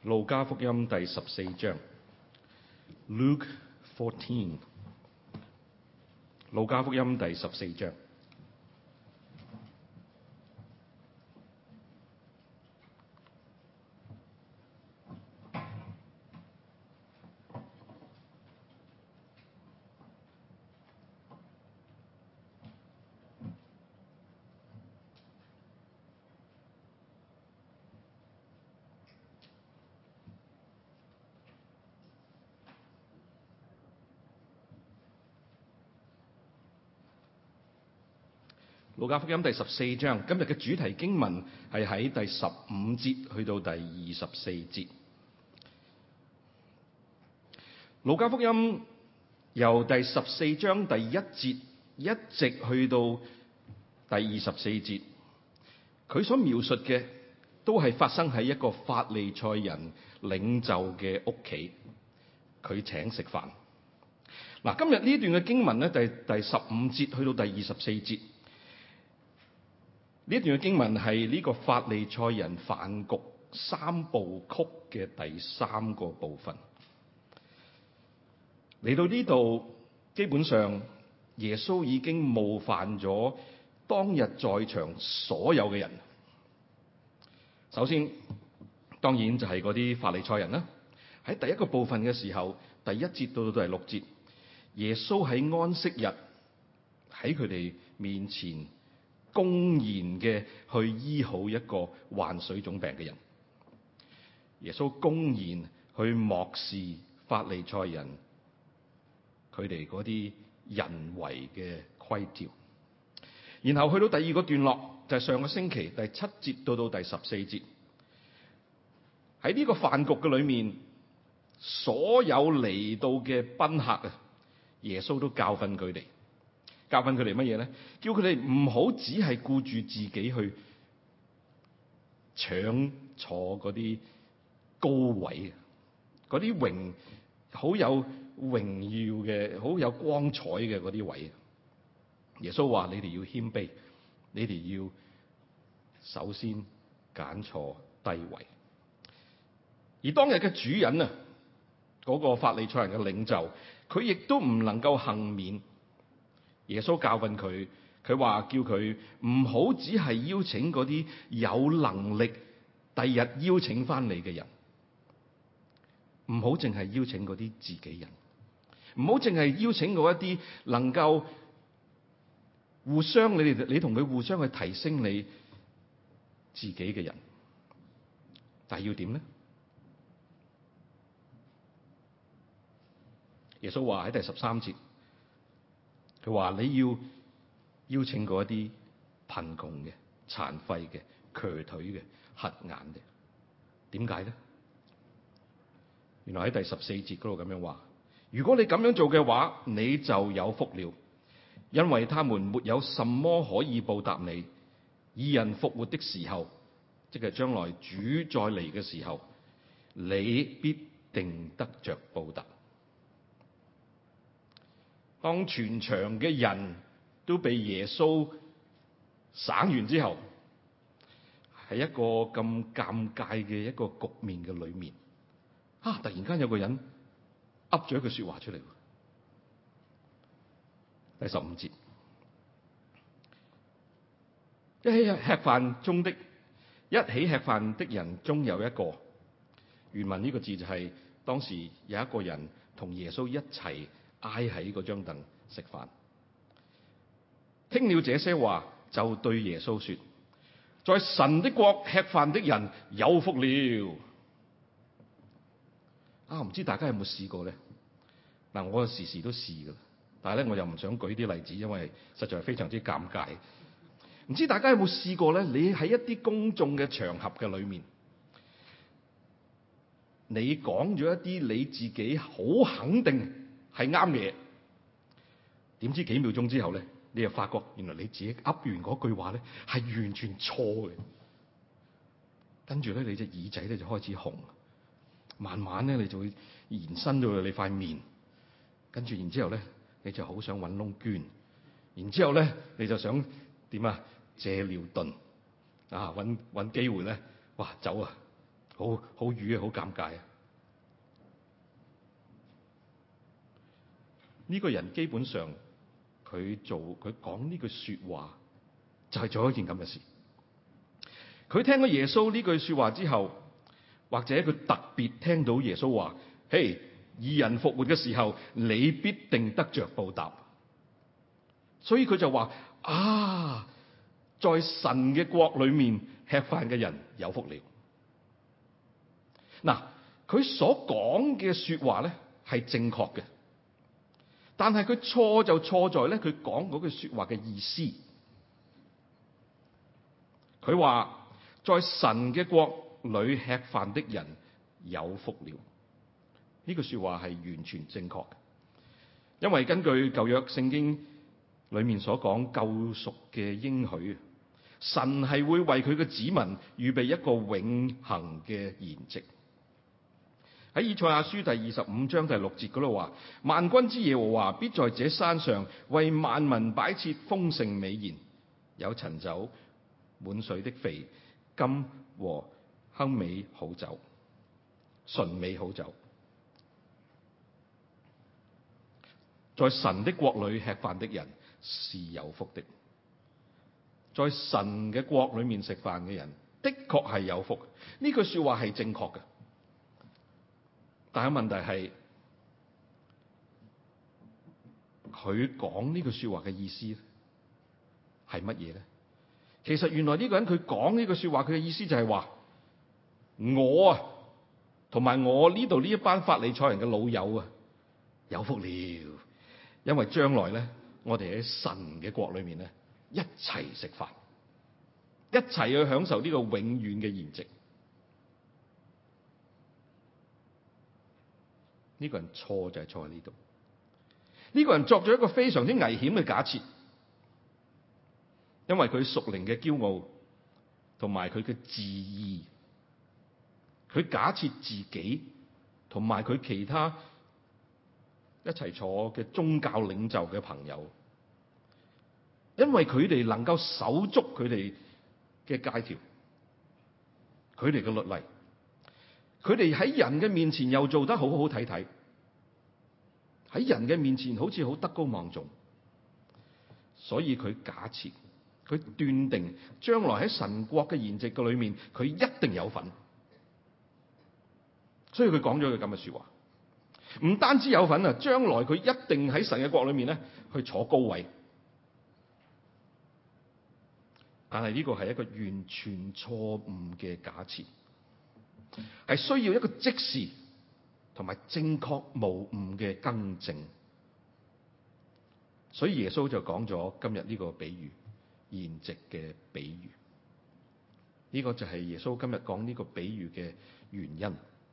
路加福音第14章 Luke 14， 路加福音第14章。路加福音第14章，今日嘅主題經文係喺第15節去到第24節。路加福音由第14章第1節一直去到第24節，佢所描述嘅都係發生喺一個法利賽人領袖嘅屋企，佢請食飯。嗱，今日呢段嘅經文咧，第15節去到第24節。呢一段嘅經文係呢個法利賽人飯局三部曲嘅第3個部分。嚟到呢度，基本上耶穌已經冒犯咗當日在場所有嘅人。首先，當然就係嗰啲法利賽人啦。喺第一個部分嘅時候，第1節到第6節，耶穌喺安息日喺佢哋面前公然嘅去醫好一個患水腫病嘅人。耶穌公然去漠視法利賽人佢哋嗰啲人為嘅規條。然後去到第2個段落，就係上個星期第7節到第14節。喺呢個飯局嘅裏面，所有嚟到嘅賓客啊，耶穌都教訓佢哋。教訓佢哋乜嘢咧？叫佢哋唔好只係顧住自己去搶坐嗰啲高位，嗰啲好有榮耀嘅、好有光彩嘅嗰啲位。耶穌話：你哋要謙卑，你哋要首先揀坐低位。而當日嘅主人啊，嗰個法利賽人嘅領袖，佢亦都唔能夠幸免。耶穌教訓佢，佢話叫佢唔好只係邀請嗰啲有能力第日邀請翻嚟嘅人，唔好淨係邀請嗰啲自己人，唔好淨係邀請嗰一啲能夠你同佢互相去提升你自己嘅人。但係要點呢？耶穌話喺第13節。佢話你要邀請嗰一啲貧窮嘅、殘廢嘅、瘸腿嘅、瞎眼嘅。點解咧？原來喺第14節嗰度咁樣話：如果你咁樣做嘅話，你就有福了，因為他們沒有什麼可以報答你。義人復活的時候，即係將來主再嚟嘅時候，你必定得着報答。當全場嘅人都被耶穌省完之後，喺一個咁尷尬嘅一個局面嘅裏面，突然間有個人噏咗一句說話出嚟。第15節，一起吃飯的人中有一個，原文呢個字就係當時有一個人同耶穌一齊挨喺嗰張凳食飯，聽了這些話，就對耶穌說：在神的國吃飯的人有福了。唔知大家有冇試過咧？我時時都試噶，但係咧我又唔想舉啲例子，因為實在係非常之尷尬。唔知大家有冇試過咧？你喺一啲公眾嘅場合嘅裏面，你講咗一啲你自己好肯定係啱嘅嘢，點知幾秒鐘之後咧，你又發覺原來你自己噏完嗰句話咧係完全錯嘅。跟住咧，你隻耳仔咧就開始紅，慢慢咧你就會延伸到你塊面，跟住然之後咧，你就好想揾窿捐，然之後咧你就想點啊？借尿遁啊，揾機會咧，哇走啊！ 好瘀啊，好尷尬啊！呢個人基本上佢講呢句說話，就係做一件咁嘅事。佢聽咗耶穌呢句說話之後，或者佢特別聽到耶穌話：嘿，義人復活嘅時候，你必定得着報答。所以佢就話：啊，在神嘅國裏面吃飯嘅人有福了。嗱，佢所講嘅說話咧係正確嘅，但係佢錯就錯在咧佢講嗰句說話嘅意思。佢話在神嘅國裏吃飯的人有福了，呢句說話係完全正確嘅，因為根據舊約聖經裏面所講救贖嘅應許，神係會為佢嘅子民預備一個永恆嘅筵席。喺以賽亞書第25章第6節嗰度話：萬軍之耶和華必在這山上為萬民擺設豐盛美筵，有陳酒、滿髓的肥甘和香美好酒、純美好酒。在神的國裏吃飯的人是有福的。在神嘅國裏面食飯嘅人的確係有福，呢句說話係正確嘅。但係問題係，佢講呢句說話嘅意思係乜嘢咧？其實原來呢個人佢講呢句說話，佢嘅意思就係話，我啊同埋我呢度呢一班法利賽人嘅老友啊有福了，因為將來咧我哋喺神嘅國裏面咧一齊食飯，一齊去享受呢個永遠嘅筵席。呢個人錯就係錯喺呢度。呢個人作咗一個非常之危險嘅假設，因為佢屬靈嘅驕傲同埋佢嘅自義，佢假設自己同埋佢其他一齊坐嘅宗教領袖嘅朋友，因為佢哋能夠守足佢哋嘅戒條，佢哋嘅律例，佢哋喺人嘅面前又做得好好睇睇，喺人嘅面前好似好德高望重，所以佢假設，佢斷定將來喺神國嘅筵席嘅裏面，佢一定有份。所以佢講咗句咁嘅說話，唔單止有份啊，將來佢一定喺神嘅國裏面咧去坐高位。但係呢個係一個完全錯誤嘅假設，係需要一個即時同埋正確無誤嘅更正。所以耶穌就講咗今日呢個比喻，筵席嘅比喻。呢個就係耶穌今日講呢個比喻嘅原因。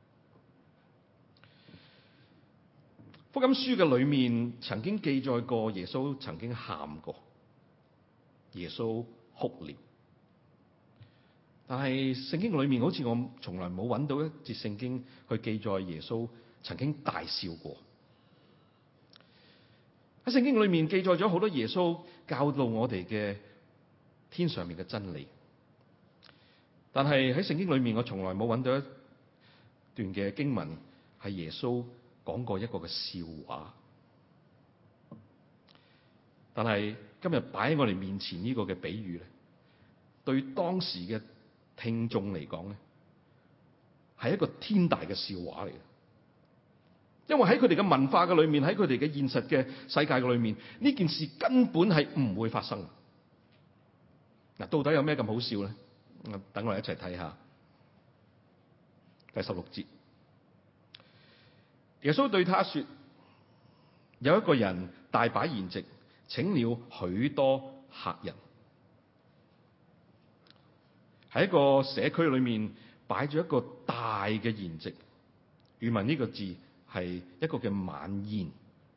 福音書嘅裏面曾經記載過耶穌曾經喊過，耶穌哭了。但係聖經裏面好似我從來冇揾到一節聖經去記載耶穌曾經大笑過。喺聖經裏面記載咗好多耶穌教導我哋嘅天上面嘅真理，但係喺聖經裏面我從來冇揾到一段嘅經文係耶穌講過一個嘅笑話。但係今日擺喺我哋面前呢個嘅比喻咧，對當時嘅聽眾嚟講咧，係一個天大嘅笑話嚟嘅。因為喺佢哋嘅文化嘅裏面，喺佢哋嘅現實嘅世界嘅裏面，呢件事根本係唔會發生。嗱，到底有咩咁好笑咧？等我哋一齊睇下第16節。耶穌對他說：有一個人大擺筵席，請了許多客人。喺一個社區裏面擺咗一個大嘅筵席，原文呢個字係一個嘅晚宴。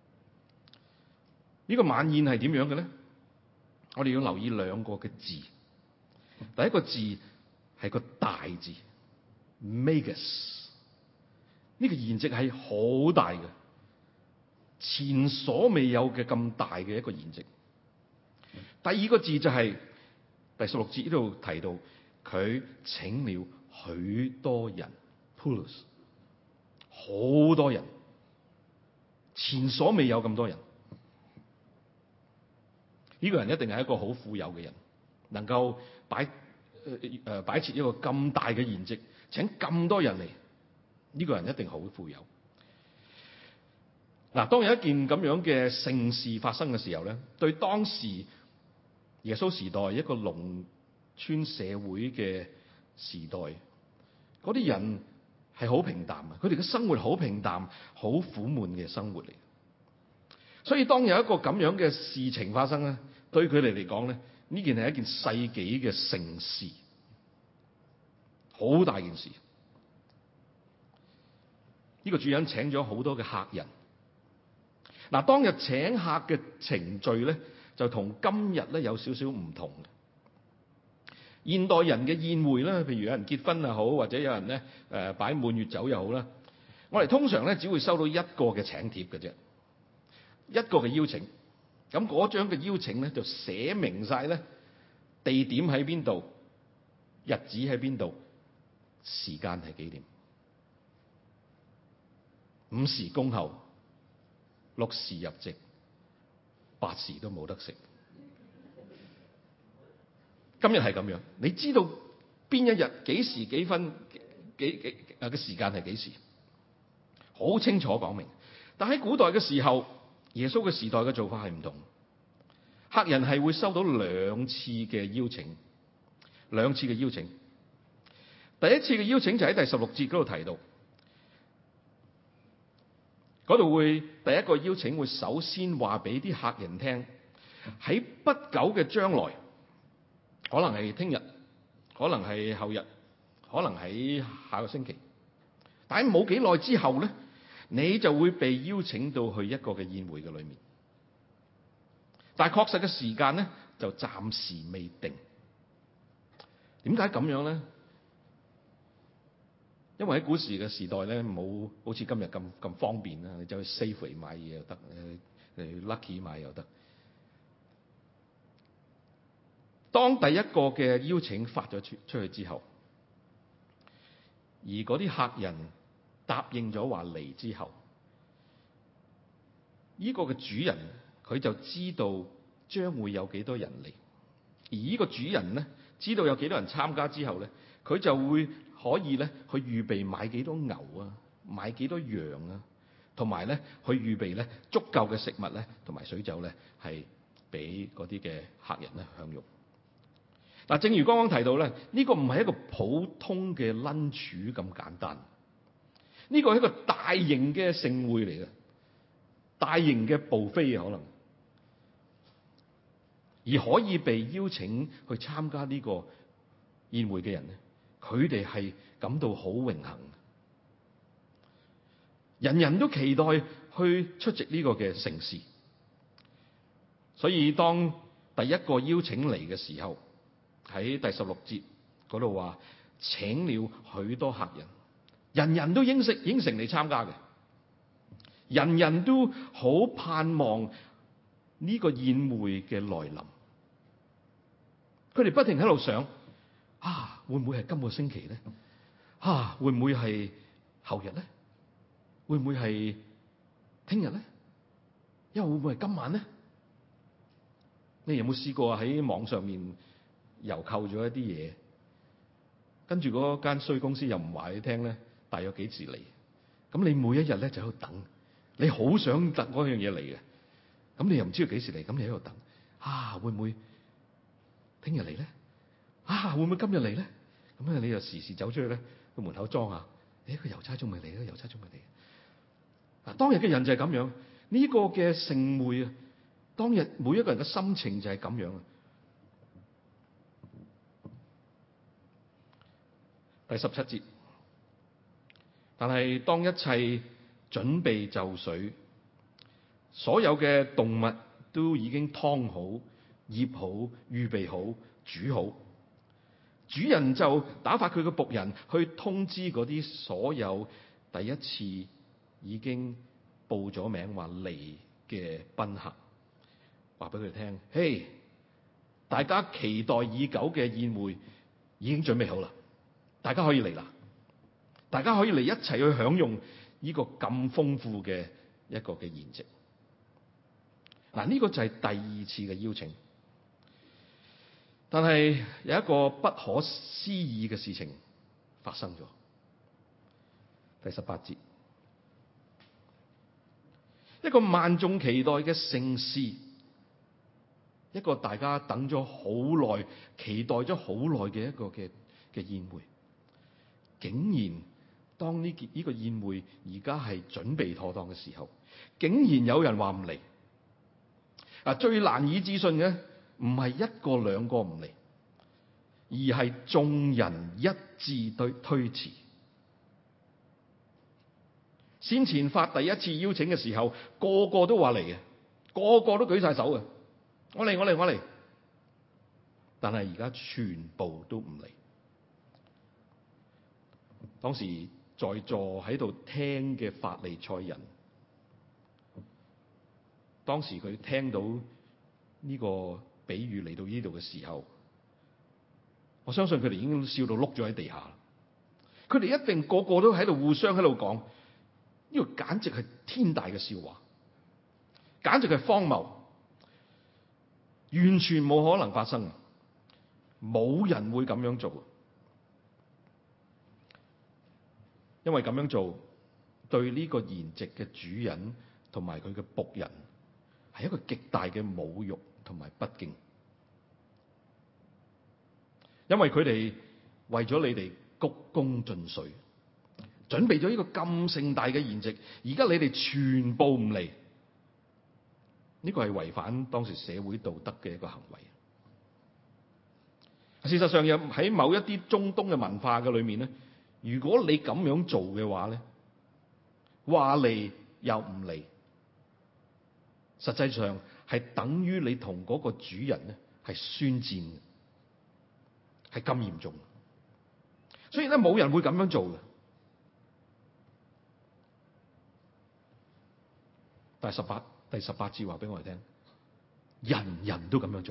呢個晚宴係點樣嘅咧？我哋要留意兩個嘅字。第一個字係個大字 ，megas。呢個筵席係好大嘅，前所未有嘅咁大嘅一個筵席。第二個字就係第16節呢度提到，佢請了許多人 ，Poulos， 好多人，前所未有咁多人。呢個人一定係一個好富有嘅人，能夠擺設一個咁大嘅筵席，請咁多人嚟。呢個人一定好富有。嗱，當有一件咁樣嘅盛事發生嘅時候咧，對當時耶穌時代一個農村社會嘅時代，嗰啲人係好平淡嘅，佢哋嘅生活好平淡，好苦悶嘅生活嚟。所以當有一個咁樣嘅事情發生咧，對佢哋嚟講咧，呢件係一件世紀嘅盛事，好大件事。呢個主人請咗好多嘅客人。嗱，當日請客嘅程序咧，就同今日咧有少少唔同嘅。現代人嘅宴會咧，譬如有人結婚又好，或者有人咧擺滿月酒又好啦，我哋通常咧只會收到一個嘅請帖嘅啫，一個嘅邀請。咁嗰張嘅邀請咧就寫明晒咧地點喺邊度，日子喺邊度，時間係幾點，午時恭候，6時入席，8時都冇得食。今日係咁樣，你知道邊一日幾時幾分幾嘅時間係幾時，好清楚講明。但喺古代嘅時候，耶穌嘅時代嘅做法係唔同，客人係會收到兩次嘅邀請，兩次嘅邀請。第一次嘅邀請就喺第16節嗰度提到，嗰度會第一個邀請會首先話俾啲客人聽，喺不久嘅將來，可能係聽日，可能係後日，可能喺下個星期，但係冇幾耐之後咧，你就會被邀請到去一個嘅宴會嘅裏面。但係確實嘅時間咧就暫時未定。點解咁樣咧？因為喺古時嘅時代咧，冇好似今日咁方便啦，你走去 Safeway 買嘢又得，你 Lucky 買又得。當第一個嘅邀請發咗出去之後，而嗰啲客人答應咗話嚟之後，呢個嘅主人佢就知道將會有幾多人嚟，而呢個主人咧知道有幾多人參加之後咧，佢就會可以咧去預備買幾多牛啊，買幾多羊啊，同埋咧去預備咧足夠嘅食物咧同埋水酒咧係俾嗰啲嘅客人咧享用。嗱，正如剛剛提到咧，呢個唔係一個普通嘅 lunch 咁簡單，呢個係一個大型嘅盛會嚟嘅，大型嘅 buffet可能，而可以被邀請去參加呢個宴會嘅人咧，佢哋係感到好榮幸，人人都期待去出席呢個嘅盛事。所以當第一個邀請嚟嘅時候，喺第16節嗰度話，請了許多客人，人人都應承嚟參加嘅，人人都好盼望呢個宴會嘅來臨。佢哋不停喺度想，會唔會係今個星期咧？會唔會係後日咧？會唔會係聽日咧？又會唔會係今晚咧？你有冇試過喺網上面郵購咗一啲嘢，跟住嗰間衰公司又唔話你聽咧，大約幾時嚟？咁你每一日咧就喺度等，你好想等嗰樣嘢嚟嘅，咁你又唔知道幾時嚟，咁你喺度等，會唔會聽日嚟咧？會唔會今日嚟咧？咁你就時時走出去咧，去門口裝下，個郵差仲未嚟咧，郵差仲未嚟。當日嘅人就係咁樣，呢個嘅盛會啊，當日每一個人嘅心情就係咁樣。第17節，但係當一切準備就緒，所有嘅動物都已經劏好、醃好、預備好、煮好，主人就打發佢嘅僕人去通知嗰啲所有第一次已經報咗名話嚟嘅賓客，話俾佢聽：嘿，大家期待已久嘅宴會已經準備好啦！ 大家可以嚟啦，大家可以嚟一齊去享用呢個咁豐富嘅一個嘅筵席。嗱，呢個就係第二次嘅邀請。但係有一個不可思議嘅事情發生咗。第18節，一個萬眾期待嘅盛事，一個大家等咗好耐、期待咗好耐嘅一個嘅宴會，竟然當呢個宴會而家係準備妥當嘅時候，竟然有人話唔嚟。最難以置信嘅唔係一個兩個唔嚟，而係眾人一致推辭。先前發第一次邀請嘅時候，個個都話嚟嘅，個個都舉晒手嘅，我嚟。但係而家全部都唔嚟。當時在座喺度聽嘅法利賽人，當時佢聽到呢個比喻嚟到呢度嘅時候，我相信佢哋已經笑到碌咗喺地下。佢哋一定個個都喺度互相喺度講，呢個簡直係天大嘅笑話，簡直係荒謬，完全冇可能發生，冇人會咁樣做。因為咁樣做對呢個筵席嘅主人同埋佢嘅僕人係一個極大嘅侮辱同埋不敬。因為佢哋為咗你哋鞠躬盡瘁，準備咗呢個咁盛大嘅筵席，而家你哋全部唔嚟，呢個係違反當時社會道德嘅一個行為。事實上，又喺某一啲中東嘅文化嘅裏面咧，如果你咁樣做嘅話咧，話嚟又唔嚟，實際上係等於你同嗰個主人咧係宣戰，係咁嚴重。所以咧，冇人會咁樣做嘅。但係第十八節話俾我哋聽，人人都咁樣做，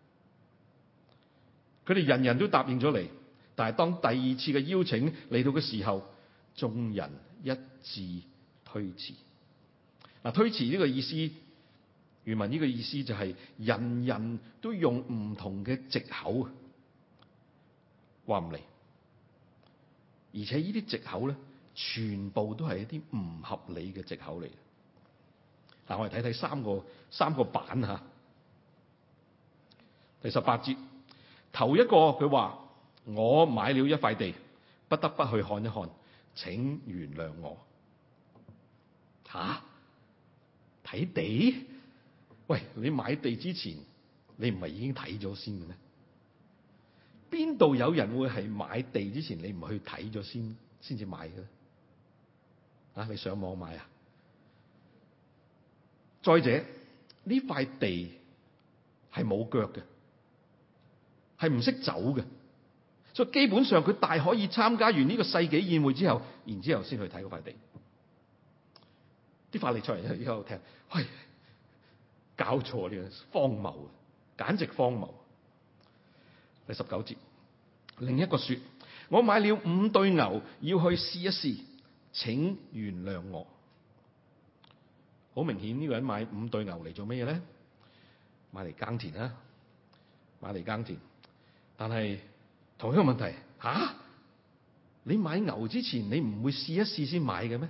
佢哋人人都答應咗嚟。但係當第二次嘅邀請嚟到嘅時候，眾人一致推辭。推辭呢個意思，原文呢個意思就係人人都用唔同嘅藉口話唔嚟，而且呢啲藉口咧，全部都係一啲唔合理嘅藉口嚟。嗱，我哋睇睇三個版吓。第18節，頭一個佢話，我買了一塊地，不得不去看一看，請原諒我。睇地？喂，你買地之前，你唔係已經睇咗先嘅咩？邊度有人會係買地之前你唔去睇咗先至買嘅？你上網買啊？再者，呢塊地係冇腳嘅，係唔識走嘅，所以基本上佢大可以參加完呢個世紀宴會之後，然之後先去睇嗰塊地。啲法利賽人喺度聽，喂，搞錯，呢個荒謬，簡直荒謬。第19節，另一個說，我買了5對牛，要去試一試，請原諒我。好明顯呢個人買5對牛嚟做咩嘢咧？買嚟耕田啦，買嚟耕田。但係同一個問題，你買牛之前你唔會試一試先買嘅咩？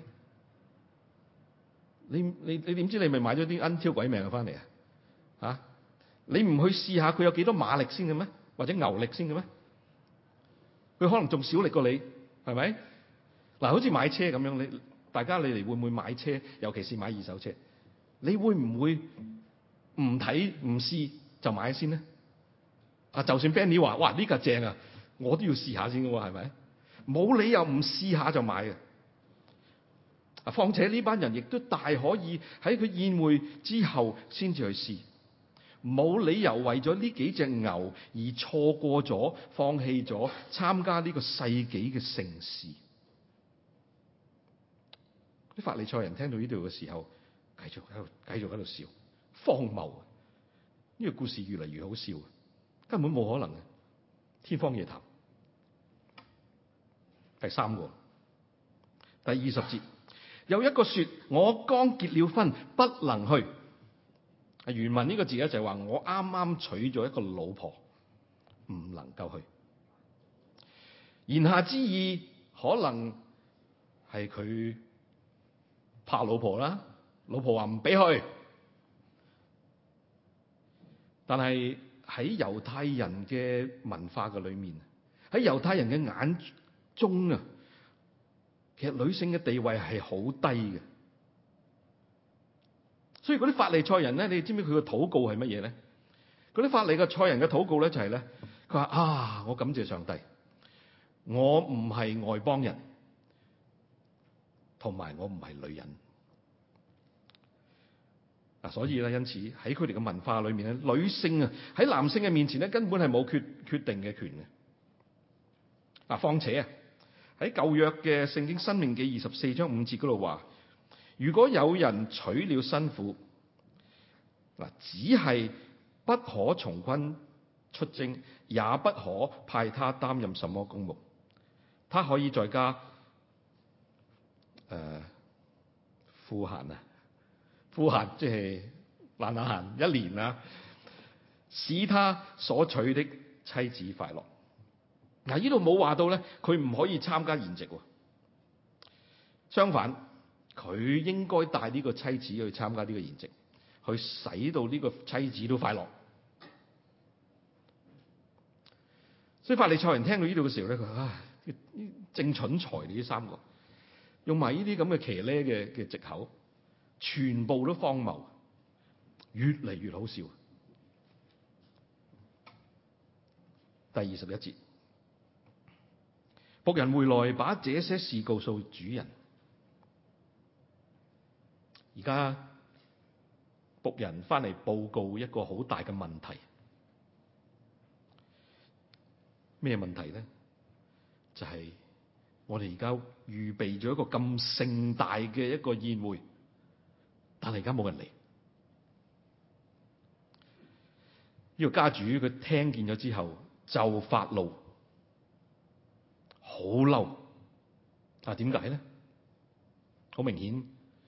你點知你咪買咗啲奀挑鬼命翻嚟啊？你唔去試下佢有幾多馬力先嘅咩？或者牛力先嘅咩？佢可能仲少力過你，係咪？好似買車咁樣，大家你哋會唔會買車？尤其是買二手車，你會唔會唔睇唔試就買先呢？就算 Benny 話，哇，呢架正啊，我都要試下先嘅喎，係咪？冇理由唔試下就買嘅。況且呢班人亦都大可以喺佢宴會之後先至去試，冇理由為咗呢幾隻牛而錯過咗、放棄咗參加呢個世紀嘅盛事。啲法利賽人聽到呢度嘅時候，繼續喺度笑，荒謬。呢個故事越嚟越好笑，根本冇可能嘅，天方夜譚。 第三個，第20節，有一個說：我剛結了婚，不能去。原文呢個字咧就係話我啱啱娶咗一個老婆，唔能夠去。言下之意可能係佢怕老婆啦，老婆話唔俾去。但係喺猶太人嘅文化嘅裏面，喺猶太人嘅眼中啊，其實女性嘅地位係好低嘅。所以嗰啲法利賽人咧，你知唔知佢嘅禱告係乜嘢咧？嗰啲法利賽人嘅禱告咧就係咧，佢話啊，我感謝上帝，我唔係外邦人，同埋我唔係女人。嗱，所以咧，因此喺佢哋嘅文化裏面咧，女性啊喺男性嘅面前咧，根本係冇決定嘅權嘅。嗱，況且啊喺舊約嘅聖經申命記24章5節嗰度話，如果有人娶了新婦，嗱，只係不可從軍出征，也不可派他擔任什麼公務，他可以在家賦閒啊，賦閒即係懶閒1年啊，使他所娶的妻子快樂。嗱，呢度冇話到咧，佢唔可以參加筵席。相反，佢應該帶呢個妻子去參加呢個筵席，去使到呢個妻子都快樂。所以法利賽人聽到呢度嘅時候咧，佢話：正蠢材呢3個，用埋呢啲咁嘅騎呢嘅藉口，全部都荒謬，越嚟越好笑。第21節，僕人回來把這些事告訴主人。而家僕人翻嚟報告一個好大嘅問題。咩問題咧？就係我哋而家預備咗一個咁盛大嘅一個宴會，但係而家冇人嚟。呢個家主佢聽見咗之後就發怒，好嬲。啊，點解咧？好明顯，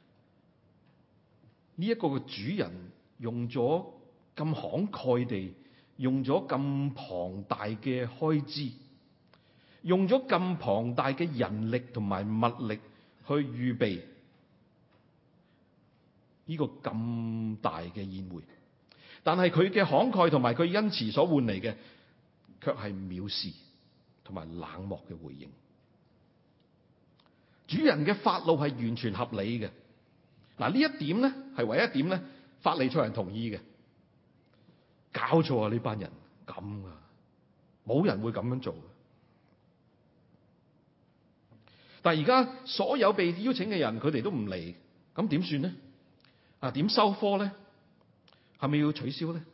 呢一個嘅主人用咗咁慷慨地，用咗咁龐大嘅開支，用咗咁龐大嘅人力同埋物力去預備呢個咁大嘅宴會，但係佢嘅慷慨同埋佢恩慈所換嚟嘅，卻係藐視同埋冷漠嘅回應。主人嘅發怒係完全合理嘅。嗱，呢一點咧係唯一一點咧，法利賽人同意嘅。搞錯啊！呢班人咁啊，冇人會咁樣做。但係而家所有被邀請嘅人，佢哋都唔嚟，咁點算咧？啊，點收科咧？係咪要取消咧？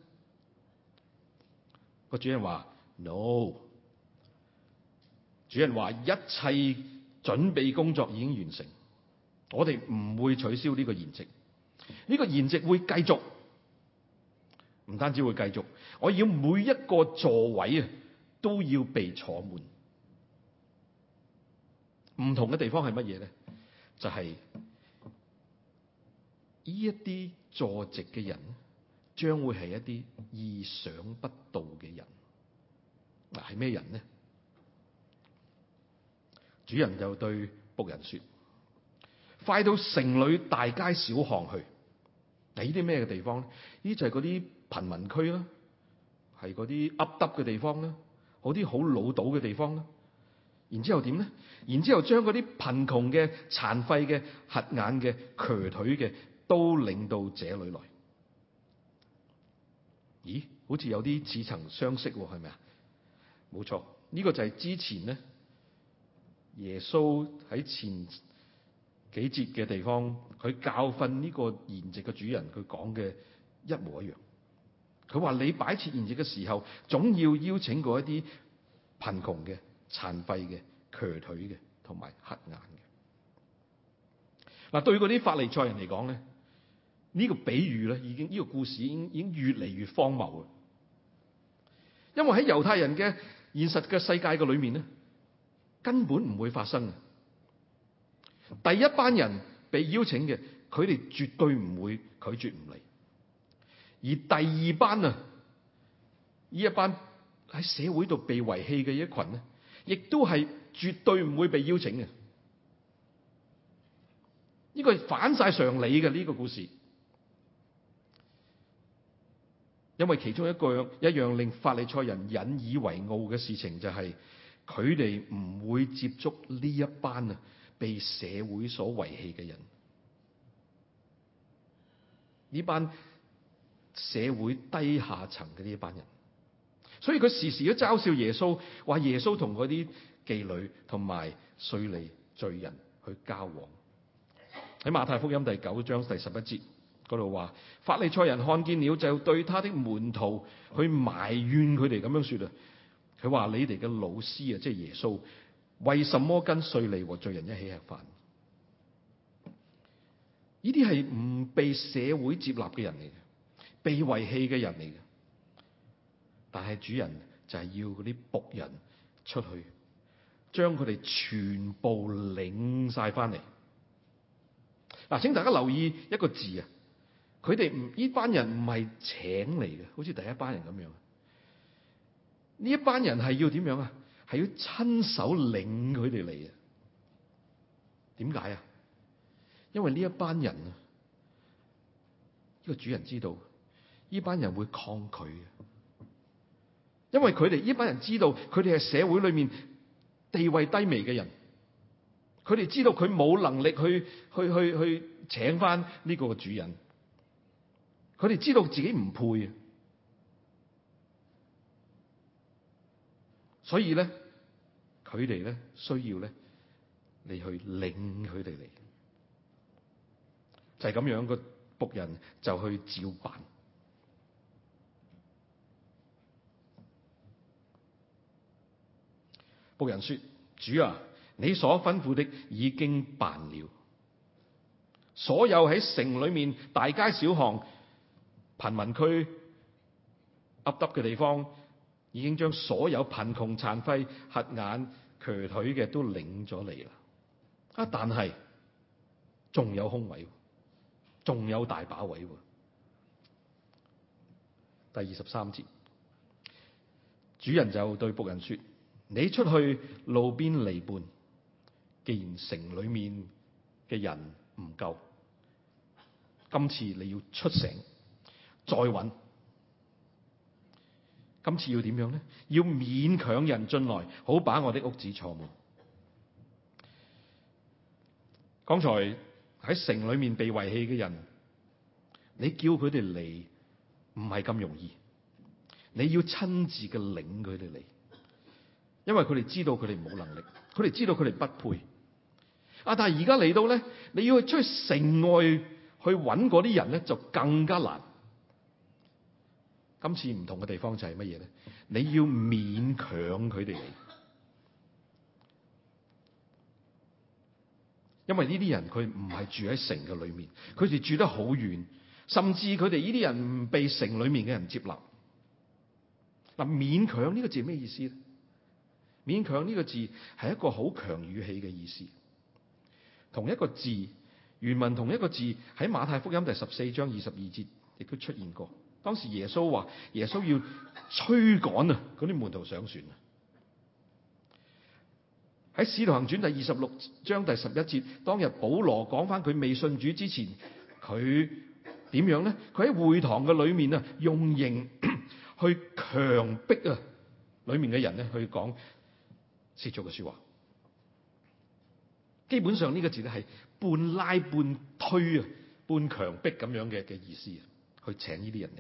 個主人話 no。主人話一切準備工作已經完成，我哋唔會取消呢個筵席。呢個筵席會繼續，唔單止會繼續，我要每一個座位啊都要被坐滿。唔同嘅地方係乜嘢咧？就係呢一啲坐席嘅人將會係一啲意想不到嘅人。嗱，係咩人呢？主人就對僕人說：快到城裏大街小巷去。嗱，呢啲咩嘅地方咧？呢就係嗰啲貧民區啦，係嗰啲凹凸嘅地方啦，嗰啲好老倒嘅地方啦。然之後點咧？然之後將嗰啲貧窮嘅、殘廢嘅、瞎眼嘅、瘸腿嘅，都領到這裏來。咦？好似有啲似曾相識，係咪啊？冇錯，呢個就係之前咧，耶穌喺前幾節嘅地方，佢教訓呢個筵席嘅主人，佢講嘅一模一樣。佢話你擺設筵席嘅時候，總要邀請過一啲貧窮嘅、殘廢嘅、瘸腿嘅同埋瞎眼嘅。嗱，對嗰啲法利賽人嚟講咧，呢個比喻咧，呢個故事已經越嚟越荒謬啦。因為喺猶太人嘅現實嘅世界嘅裏面咧， 根本唔會發生嘅。第一班人被邀請嘅，佢哋絕對唔會拒絕唔嚟。而第二班呢一班喺社會度被遺棄嘅一群呢，亦都係絕對唔會被邀請嘅。呢個係反晒常理嘅呢個故事。因為其中一樣令法利賽人引以為傲嘅事情，就係佢哋唔會接觸呢一班被社會所遺棄嘅人，呢班社會低下層嘅呢一班人。所以佢時時都嘲笑耶穌，話耶穌同嗰啲妓女同埋稅吏罪人去交往。喺馬太福音第9章第11節嗰度話，法利賽人看見了，就對他的門徒去埋怨佢哋咁樣說啊。佢話：你哋嘅老師啊，即係耶穌，為什麼跟稅吏和罪人一起吃飯？呢啲係唔被社會接納嘅人嚟嘅，被遺棄嘅人嚟嘅。但係主人就係要嗰啲僕人出去，將佢哋全部領晒翻嚟。嗱，請大家留意一個字啊！佢哋呢班人唔係請嚟嘅，好似第一班人咁樣。呢一班人係要點樣啊？係要親手領佢哋嚟啊！點解啊？因為呢一班人啊，呢個主人知道呢班人會抗拒嘅，因為佢哋呢班人知道佢哋係社會裏面地位低微嘅人，佢哋知道佢冇能力去請翻呢個主人，佢哋知道自己唔配啊，所以咧佢哋咧需要咧你去領佢哋嚟。就係咁樣，個僕人就去照辦。僕人說：主啊，你所吩咐的已經辦了。所有喺城裏面大街小巷、貧民區凹凸嘅地方，已經將所有貧窮殘廢、瞎眼瘸腿嘅都領咗嚟啦。啊，但係仲有空位，仲有大把位。第23節，主人就對僕人說：你出去路邊籬笆，既然城裏面嘅人唔夠，今次你要出城再揾。今次要點樣呢？要勉強人進來，好把我的屋子坐滿。剛才喺城裏面被遺棄嘅人，你叫佢哋嚟唔係咁容易，你要親自嘅領佢哋嚟，因為佢哋知道佢哋冇能力，佢哋知道佢哋不配。但係而家嚟到咧，你要去出去城外去揾嗰啲人咧，就更加難。今次唔同嘅地方就係乜嘢咧？你要勉強佢哋嚟，因為呢啲人佢唔係住喺城嘅裏面，佢哋住得好遠，甚至佢哋呢啲人唔被城裏面嘅人接納。嗱，勉強呢個字係咩意思咧？勉強呢個字係一個好強語氣嘅意思。同一個字，原文同一個字喺馬太福音第14章22節亦都出現過。當時耶穌話，耶穌要驅趕啊嗰啲門徒上船啊。喺使徒行傳第26章第11節，當日保羅講翻佢未信主之前，佢點樣咧？佢喺會堂嘅裏面啊，用刑去強迫啊裏面嘅人咧去講褻瀆嘅說話。基本上呢個字咧係半拉半推啊，半強迫咁樣嘅意思，去請呢啲人嚟。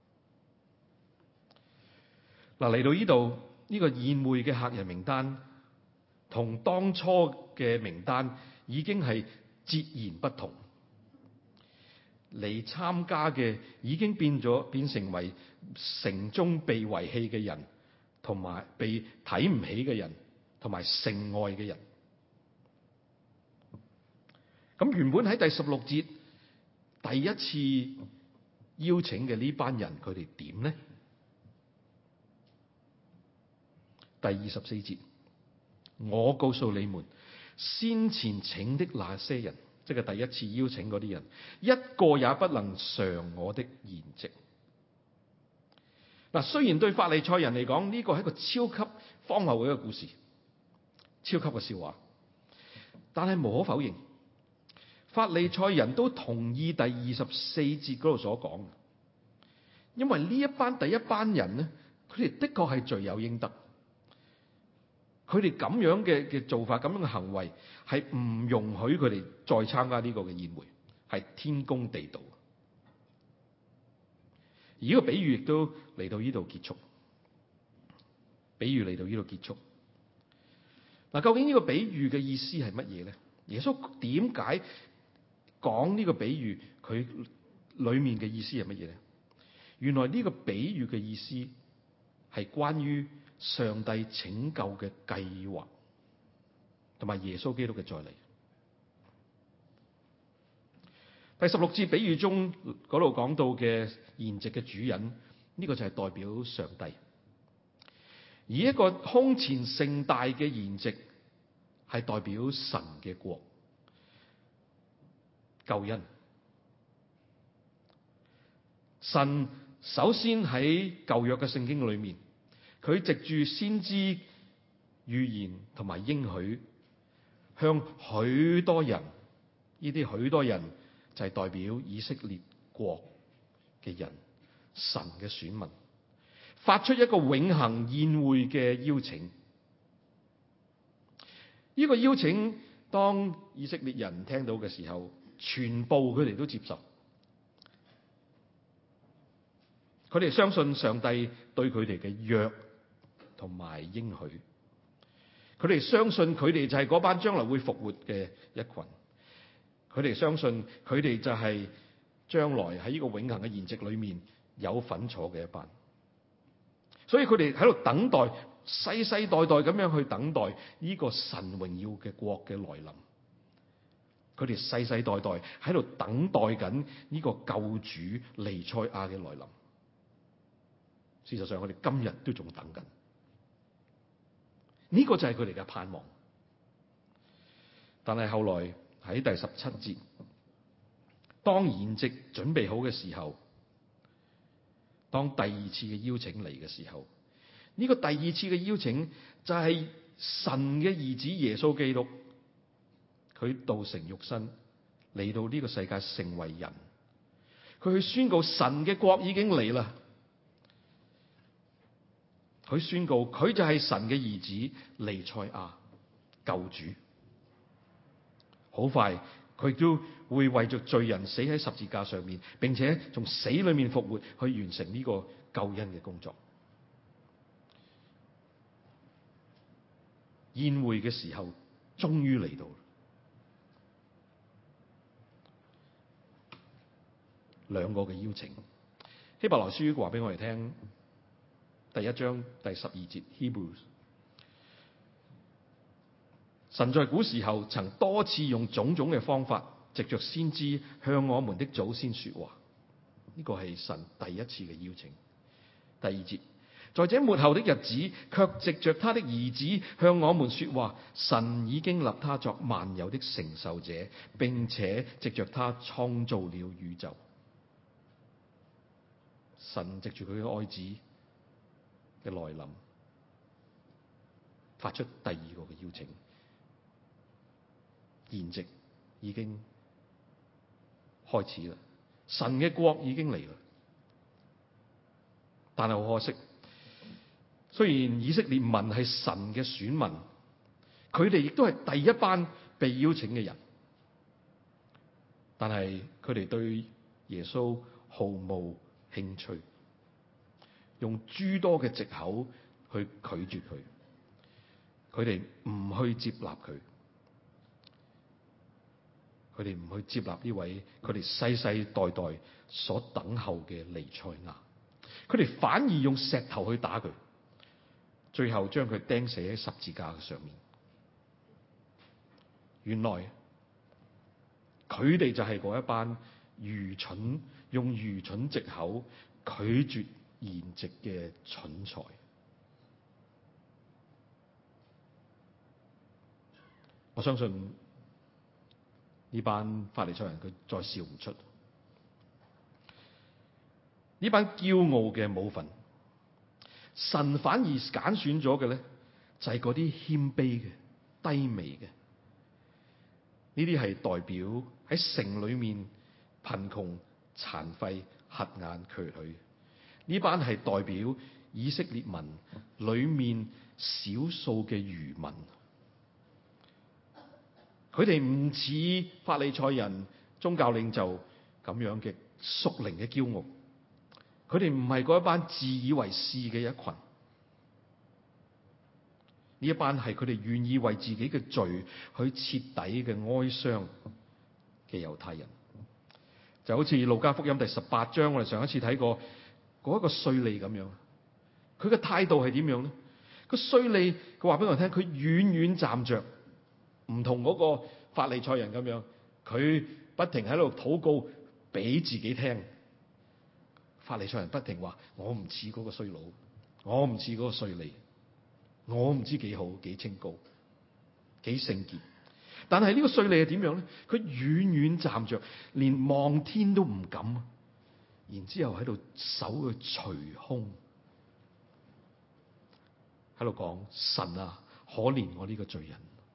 嗱，嚟到呢度呢個宴會嘅客人名單，同當初嘅名單已經係截然不同。嚟參加嘅已經變成為城中被遺棄嘅人，同埋被睇唔起嘅人，同埋城外嘅人。咁原本喺第16節第一次邀請嘅呢班人，佢哋點呢？第24節， 我告訴你們，先前請的那些人，即係第一次邀請嗰啲人，一個也不能嘗我的筵席。嗱，雖然對法利賽人嚟講，呢個係一個超級荒謬嘅一個故事，超級嘅笑話，但係無可否認，法利賽人都同意第24節嗰度所講，因為呢第一班人咧，佢哋的確係罪有應得，佢哋咁樣嘅做法，咁樣嘅行為係唔容許佢哋再參加呢個嘅宴會，係天公地道。而呢個比喻亦都嚟到呢度結束。比喻嚟到呢度結束。嗱，究竟呢個比喻嘅意思係乜嘢咧？耶穌點解講呢個比喻？佢裏面嘅意思係乜嘢咧？原來呢個比喻嘅意思係關於上帝拯救嘅計劃，同埋耶穌基督嘅再嚟。第16節比喻中嗰度講到嘅筵席嘅主人，呢個就係代表上帝。而一個空前盛大嘅筵席係代表神嘅國、救恩。神首先喺舊約嘅聖經裏面，佢藉住先知預言同埋應許，向許多人，呢啲許多人就係代表以色列國嘅人，神嘅選民，發出一個永恆宴會嘅邀請。呢個邀請，當以色列人聽到嘅時候，全部佢哋都接受。佢哋相信上帝對佢哋嘅約同埋應許，佢哋相信佢哋就係嗰班將來會復活嘅一群，佢哋相信佢哋就係將來喺呢個永恆嘅筵席裏面有份坐嘅一班。所以佢哋喺度等待，世世代代咁樣去等待呢個神榮耀嘅國嘅來臨。佢哋世世代代喺度等待緊呢個救主彌賽亞嘅來臨。事實上，我哋今日都仲等緊。呢個就係佢哋嘅盼望。但係後來喺第17節，當筵席準備好嘅時候，當第二次嘅邀請嚟嘅時候，呢個第二次嘅邀請就係神嘅兒子耶穌基督，佢道成肉身嚟到呢個世界成為人，佢去宣告神嘅國已經嚟啦。佢宣告佢就係神嘅兒子彌賽亞救主。好快佢都會為着罪人死喺十字架上面，並且從死裏面復活，去完成呢個救恩嘅工作。宴會嘅時候終於嚟到。兩個嘅邀請，希伯來書話俾我哋聽，第1章第12節 Hebrews， 神在古時候曾多次用種種嘅方法，藉着先知向我們的祖先說話。呢個係神第一次嘅邀請。第2節，在這末後的日子，卻藉着他的兒子向我們說話。神已經立他作萬有的承受者，並且藉着他創造了宇宙。神藉住佢嘅愛子嘅來臨，發出第二個嘅邀請。筵席已經開始啦，神嘅國已經嚟啦。但係好可惜，雖然以色列民係神嘅選民，佢哋亦都係第一班被邀請嘅人，但係佢哋對耶穌毫無興趣，用諸多嘅藉口去拒絕佢，佢哋唔去接納佢，佢哋唔去接納呢位佢哋世世代代所等候嘅彌賽亞，佢哋反而用石頭去打佢，最後將佢釘死喺十字架上面。原來佢哋就係嗰一班愚蠢，用愚蠢藉口拒絕筵席嘅蠢材。 我相信呢班法利賽人佢再笑唔出，呢班驕傲嘅冇份，神反而揀選咗嘅咧，就係嗰啲謙卑嘅、低微嘅。呢啲係代表喺城裏面貧窮、殘廢、瞎眼、瘸腿。呢班係代表以色列民裏面少數嘅餘民。佢哋唔似法利賽人、宗教領袖咁樣嘅屬靈嘅驕傲，佢哋唔係嗰一班自以為是嘅一群。呢一班係佢哋願意為自己嘅罪去徹底嘅哀傷嘅猶太人，就好似路加福音第18章，我哋上一次睇過嗰一個稅吏咁樣。佢嘅態度係點樣咧？個稅吏佢話俾我聽，佢遠遠站着，唔同嗰個法利賽人咁樣，佢不停喺度禱告俾自己聽。法利賽人不停話：我唔似嗰個衰佬，我唔似嗰個稅吏，我唔知幾好幾清高幾聖潔。但係呢個稅吏係點樣咧？佢遠遠站着，連望天都唔敢，然之後喺度手去捶胸，喺度講：神啊，可憐我呢個罪人。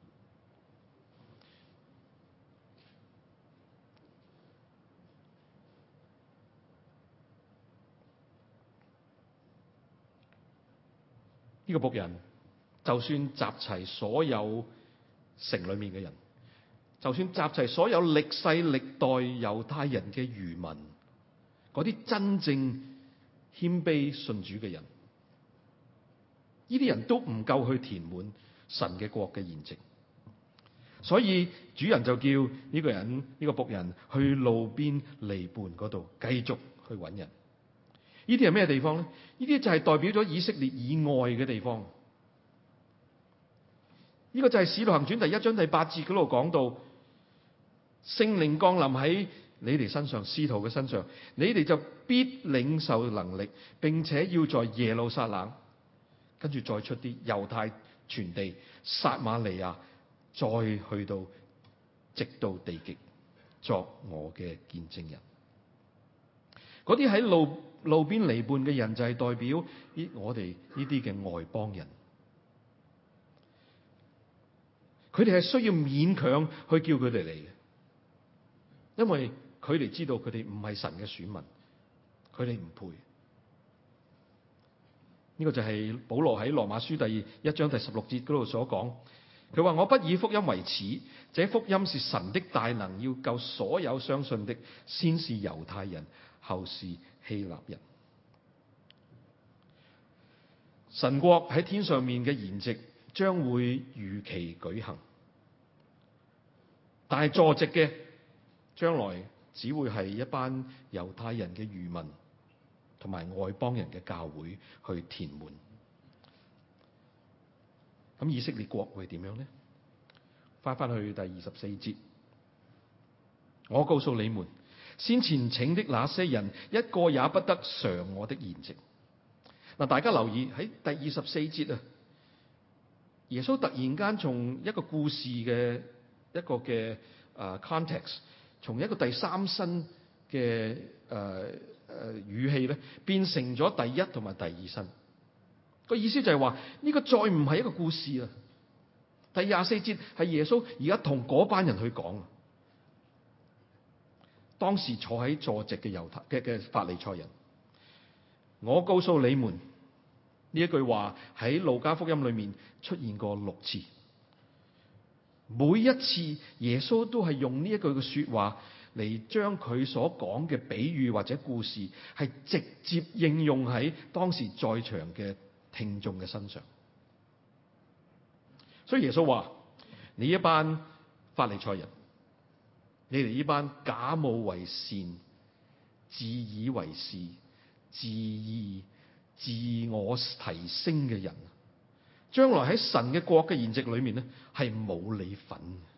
呢個僕人就算集齊所有城裏面嘅人，就算集齊所有歷世歷代猶太人嘅餘民，嗰啲真正謙卑信主嘅人，呢啲人都唔夠去填滿神嘅國嘅筵席。所以主人就叫呢個人，呢個僕人去路邊籬笆嗰度繼續去揾人。呢啲係咩地方咧？呢啲就係代表咗以色列以外嘅地方。呢個就係《使徒行傳》第1章第8節嗰度講到，聖靈降臨喺你哋身上，使徒嘅身上，你哋就必領受能力，並且要在耶路撒冷，跟住再出啲猶太全地、撒瑪利亞，再去到直到地極，作我嘅見證人。嗰啲喺路邊籬笆嘅人就係代表我哋呢啲嘅外邦人，佢哋係需要勉強去叫佢哋嚟嘅，因為佢哋知道佢哋唔係神嘅選民，佢哋唔配。呢個就係保羅喺羅馬書第1章第16節嗰度所講，佢話：我不以福音為恥，這福音是神的大能，要救所有相信的，先是猶太人，後是希臘人。神國喺天上面嘅筵席將會如期舉行，但係坐席嘅將來只會係一班猶太人嘅餘民同埋外邦人嘅教會去填滿。咁以色列國會點樣呢？翻去第24節，我告訴你們，先前請的那些人，一個也不得嘗我的筵席。嗱，大家留意喺第24節啊，耶穌突然間從一個故事嘅一個嘅context， 從一個第三身嘅語氣咧，變成咗第一同埋第二身。個意思就係話呢個再唔係一個故事啊。第24節係耶穌而家同嗰班人去講，當時坐喺坐席嘅嘅法利賽人。我告訴你們，呢一句話喺路加福音裏面出現過6次，每一次耶穌都係用呢一句嘅說話嚟將佢所講嘅比喻或者故事係直接應用喺當時在場嘅聽眾嘅身上。所以耶穌話：你一班法利賽人，你哋呢班假冒為善、自以為是、自我提升嘅人，將來喺神嘅國嘅筵席裏面咧，係冇你份。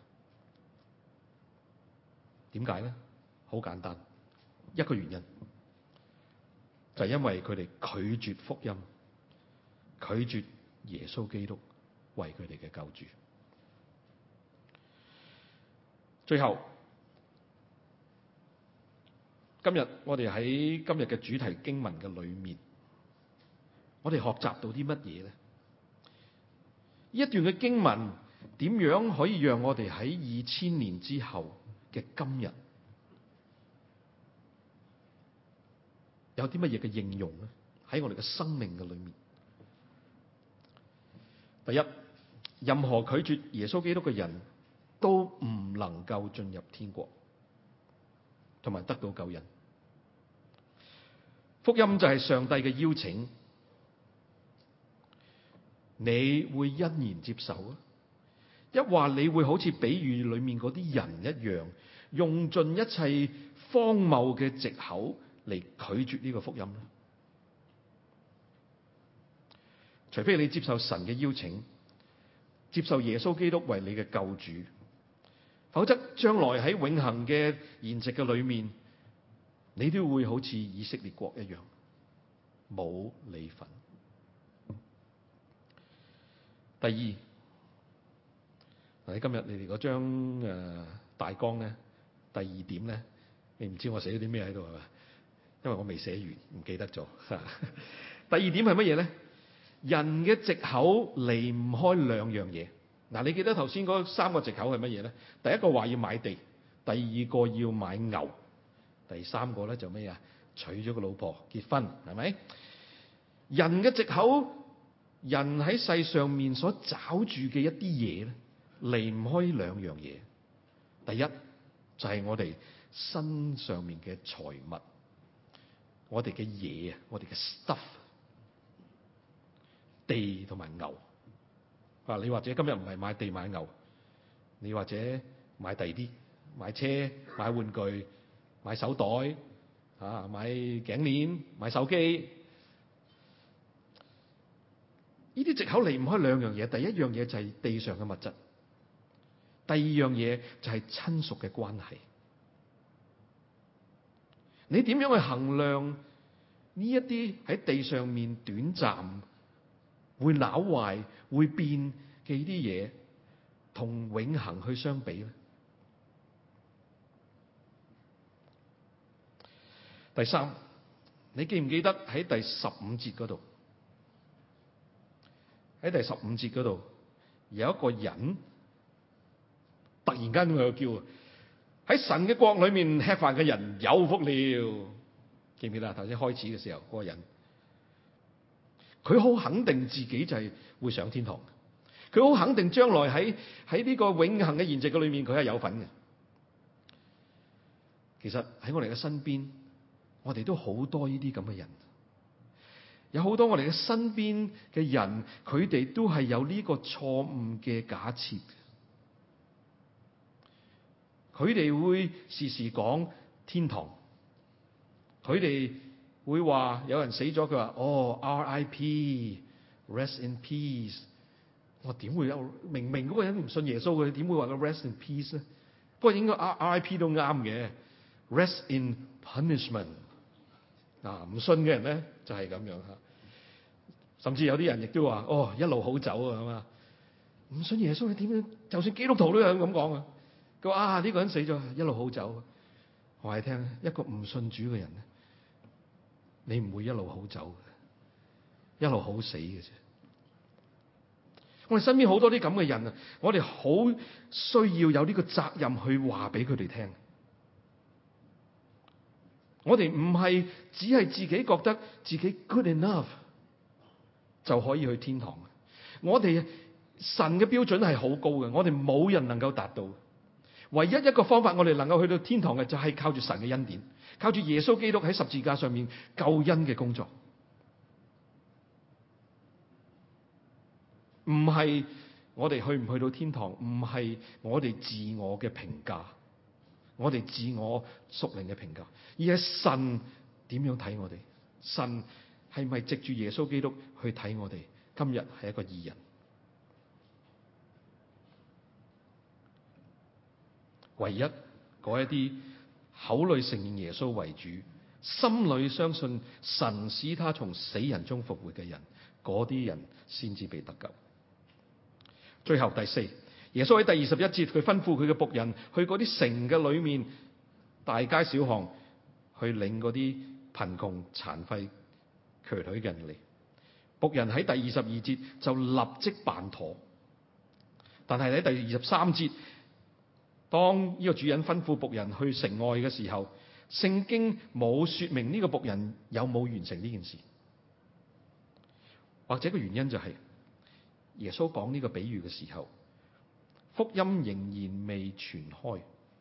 點解咧？好簡單，一個原因就係因為佢哋拒絕福音，拒絕耶穌基督為佢哋嘅救主。 最後，今日我哋喺今日嘅主題經文嘅裏面，我哋學習到啲乜嘢咧？呢一段嘅經文點樣可以讓我哋喺2000年之後嘅今日有啲乜嘢嘅應用咧？喺我哋嘅生命嘅裏面，第一，任何拒絕耶穌基督嘅人都唔能夠進入天國，同埋得到救恩。福音就係上帝嘅邀請，你會欣然接受啊？一話你會好似比喻裏面嗰啲人一樣，用盡一切荒謬嘅藉口嚟拒絕呢個福音咧？除非你接受神嘅邀請，接受耶穌基督為你嘅救主，否則將來喺永恆嘅筵席嘅裏面，你都會好似以色列國一樣，冇你份。第二，喺今日你哋嗰張大綱咧，第二點咧，你唔知我寫咗啲咩喺度係嘛？因為我未寫完，唔記得咗。第二點係乜嘢咧？人嘅藉口離唔開兩樣嘢。嗱，你記得頭先嗰三個藉口係乜嘢咧？第一個話要買地，第二個要買牛，第三個咧就咩啊？娶咗個老婆結婚，係咪？人嘅藉口，人喺世上面所找住嘅一啲嘢咧，離唔開兩樣嘢。第一就係我哋身上面嘅財物，我哋嘅嘢啊，我哋嘅 stuff。地同埋牛啊！你或者今日唔係買地買牛，你或者買第啲，買車、買玩具、買手袋啊、買頸鏈、買手機。呢啲藉口離唔開兩樣嘢。第一樣嘢就係地上嘅物質，第二樣嘢就係親屬嘅關係。你點樣去衡量呢一啲喺地上面短暫會朽壞、會變嘅呢啲嘢，同永恆去相比咧？第三，你記唔記得喺第15節嗰度？喺第15節嗰度有一個人突然間喺度叫：喺神嘅國裏面吃飯嘅人有福了。記唔記得啊？頭先開始嘅時候，嗰個人佢好肯定自己就係會上天堂，佢好肯定將來喺呢個永恆嘅筵席嘅裏面，佢係有份嘅。其實喺我哋嘅身邊，我哋都好多呢啲咁嘅人，有好多我哋嘅身邊嘅人，佢哋都係有呢個錯誤嘅假設，佢哋會時時講天堂，佢哋會話有人死咗，佢話哦 R.I.P. Rest in peace。我點會有？明明嗰個人唔信耶穌嘅，點會話個 Rest in peace 咧？不過應該 R.I.P. 都啱嘅。Rest in punishment。唔信嘅人咧就係咁樣吓。甚至有啲人亦都話哦一路好走啊咁啊。唔信耶穌你點樣？就算基督徒都有咁講啊。佢話呢個人死咗一路好走。我話你聽，一個唔信主嘅人咧，你唔會一路好走嘅，一路好死嘅啫。我哋身邊好多啲咁嘅人啊，我哋好需要有呢個責任去話俾佢哋聽。我哋唔係只係自己覺得自己 good enough 就可以去天堂。我哋神嘅標準係好高嘅，我哋冇人能夠達到。唯一一個方法我哋能夠去到天堂嘅，就係靠住神嘅恩典，靠住耶穌基督喺十字架上面救恩嘅工作。唔係我哋去唔去到天堂，唔係我哋自我嘅評價，我哋自我屬靈嘅評價，而係神點樣睇我哋？神係咪藉住耶穌基督去睇我哋？今日係一個義人。唯一嗰一啲口裏承認耶穌為主，心裏相信神使他從死人中復活嘅人，嗰啲人先至被得救。最後第四， 耶穌喺第21節，佢吩咐佢嘅僕人去嗰啲城嘅裏面，大街小巷去領嗰啲貧窮殘廢瘸腿嘅人嚟。僕人喺第22節就立即辦妥。但係喺第23節，當呢個主人吩咐僕人去城外嘅時候，聖經冇說明呢個僕人有冇完成呢件事。或者個原因就係耶穌講呢個比喻嘅時候，福音仍然未傳開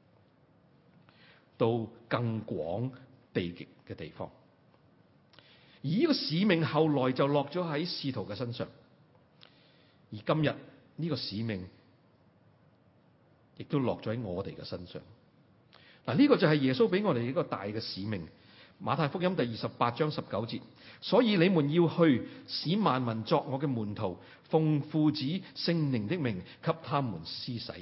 到更廣地極嘅地方，而呢個使命後來就落咗喺使徒嘅身上，而今日呢個使命亦都落咗喺我哋嘅身上。嗱，呢個就係耶穌俾我哋一個大嘅使命。馬太福音第28章19節，所以你們要去，使萬民作我嘅門徒，奉父子聖靈的名給他們施洗。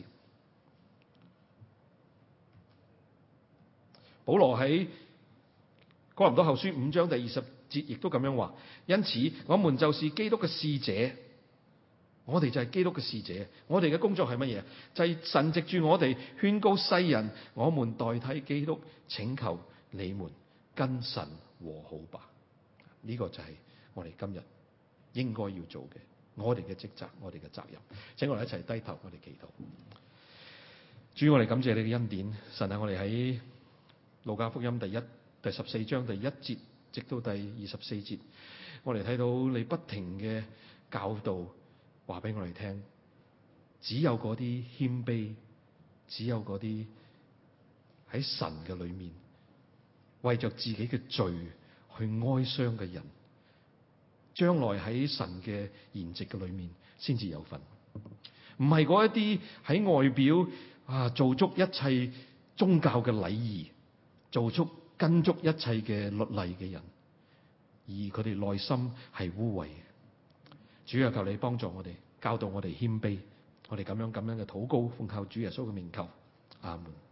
保羅喺哥林多後書5章第20節亦都咁樣話，因此我們就是基督嘅使者。我哋就係基督嘅使者，我哋嘅工作係乜嘢？就係神藉住我哋勸告世人，我們代替基督請求你們跟神和好吧。呢個就係我哋今日應該要做嘅，我哋嘅職責，我哋嘅責任。請我哋一齊低頭，我哋祈禱。主，我哋感謝你嘅恩典，神啊，我哋喺路加福音第14章第1節直到第24節，我哋睇到你不停嘅教導，話俾我哋聽，只有嗰啲謙卑，只有嗰啲喺神嘅裏面為着自己嘅罪去哀傷嘅人，將來喺神嘅筵席嘅裏面先至有份。唔係嗰一啲喺外表做足一切宗教嘅禮儀，跟足一切嘅律例嘅人，而佢哋內心係污穢嘅。主啊，求你幫助我哋，教導我哋謙卑，我哋咁樣嘅禱告，奉靠主耶穌嘅名求，阿門。